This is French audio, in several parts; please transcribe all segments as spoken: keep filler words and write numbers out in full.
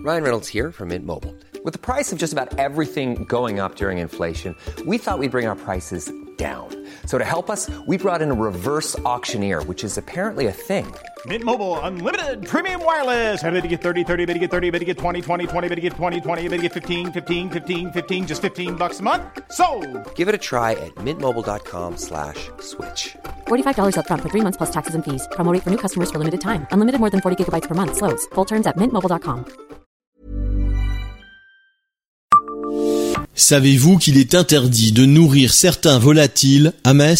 Ryan Reynolds here from Mint Mobile. With the price of just about everything going up during inflation, we thought we'd bring our prices down. So to help us, we brought in a reverse auctioneer, which is apparently a thing. Mint Mobile Unlimited Premium Wireless. How to get thirty, thirty, how to get thirty, how to get twenty, twenty, twenty, how to get twenty, twenty, how to get fifteen, fifteen, fifteen, fifteen, just fifteen bucks a month? Sold! Give it a try at mintmobile.com slash switch. forty-five dollars up front for three months plus taxes and fees. Promo rate for new customers for limited time. Unlimited more than forty gigabytes per month. Slows full terms at mint mobile dot com. Savez-vous qu'il est interdit de nourrir certains volatiles à Metz ?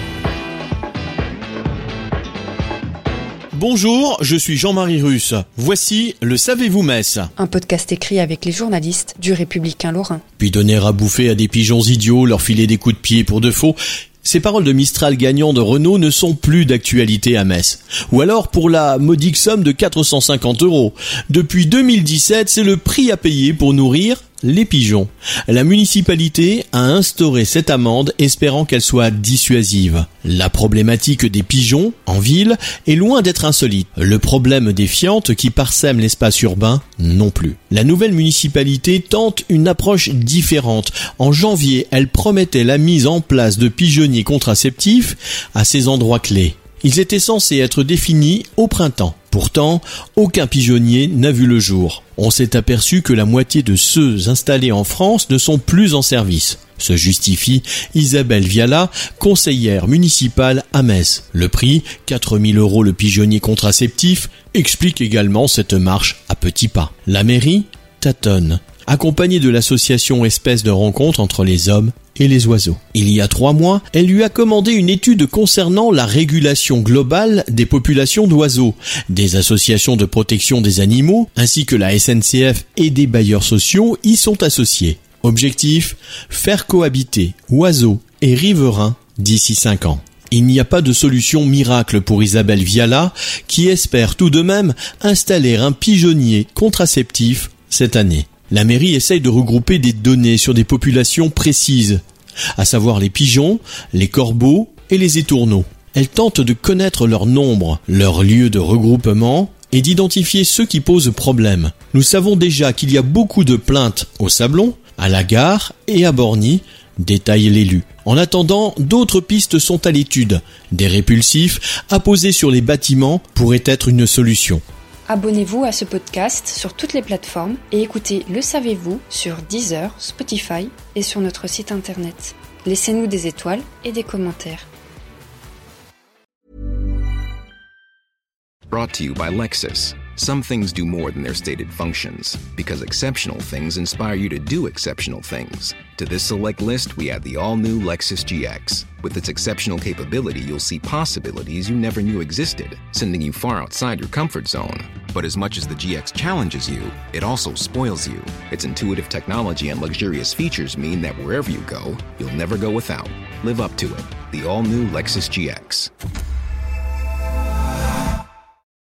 Bonjour, je suis Jean-Marie Russe. Voici le Savez-vous Metz ? Un podcast écrit avec les journalistes du Républicain Lorrain. Puis donner à bouffer à des pigeons idiots, leur filer des coups de pied pour de faux. Ces paroles de Mistral gagnant de Renault ne sont plus d'actualité à Metz. Ou alors pour la modique somme de quatre cent cinquante euros. Depuis deux mille dix-sept, c'est le prix à payer pour nourrir les pigeons. La municipalité a instauré cette amende espérant qu'elle soit dissuasive. La problématique des pigeons en ville est loin d'être insolite. Le problème des fientes qui parsèment l'espace urbain non plus. La nouvelle municipalité tente une approche différente. En janvier, elle promettait la mise en place de pigeonniers contraceptifs à ces endroits clés. Ils étaient censés être définis au printemps. Pourtant, aucun pigeonnier n'a vu le jour. On s'est aperçu que la moitié de ceux installés en France ne sont plus en service. Se justifie Isabelle Viala, conseillère municipale à Metz. Le prix, quatre mille euros le pigeonnier contraceptif, explique également cette marche à petits pas. La mairie tâtonne, accompagnée de l'association Espèces de rencontre entre les hommes et les oiseaux. Il y a trois mois, elle lui a commandé une étude concernant la régulation globale des populations d'oiseaux. Des associations de protection des animaux, ainsi que la S N C F et des bailleurs sociaux y sont associés. Objectif, faire cohabiter oiseaux et riverains d'ici cinq ans. Il n'y a pas de solution miracle pour Isabelle Viala, qui espère tout de même installer un pigeonnier contraceptif cette année. La mairie essaye de regrouper des données sur des populations précises, à savoir les pigeons, les corbeaux et les étourneaux. Elle tente de connaître leur nombre, leur lieu de regroupement et d'identifier ceux qui posent problème. Nous savons déjà qu'il y a beaucoup de plaintes au Sablon, à la gare et à Borny, détaille l'élu. En attendant, d'autres pistes sont à l'étude. Des répulsifs apposés sur les bâtiments pourraient être une solution. Abonnez-vous à ce podcast sur toutes les plateformes et écoutez Le Savez-vous sur Deezer, Spotify et sur notre site internet. Laissez-nous des étoiles et des commentaires. Brought to you by Lexus. Some things do more than their stated functions, because exceptional things inspire you to do exceptional things. To this select list, we add the all-new Lexus G X. With its exceptional capability, you'll see possibilities you never knew existed, sending you far outside your comfort zone. But as much as the G X challenges you, it also spoils you. Its intuitive technology and luxurious features mean that wherever you go, you'll never go without. Live up to it. The all-new Lexus G X.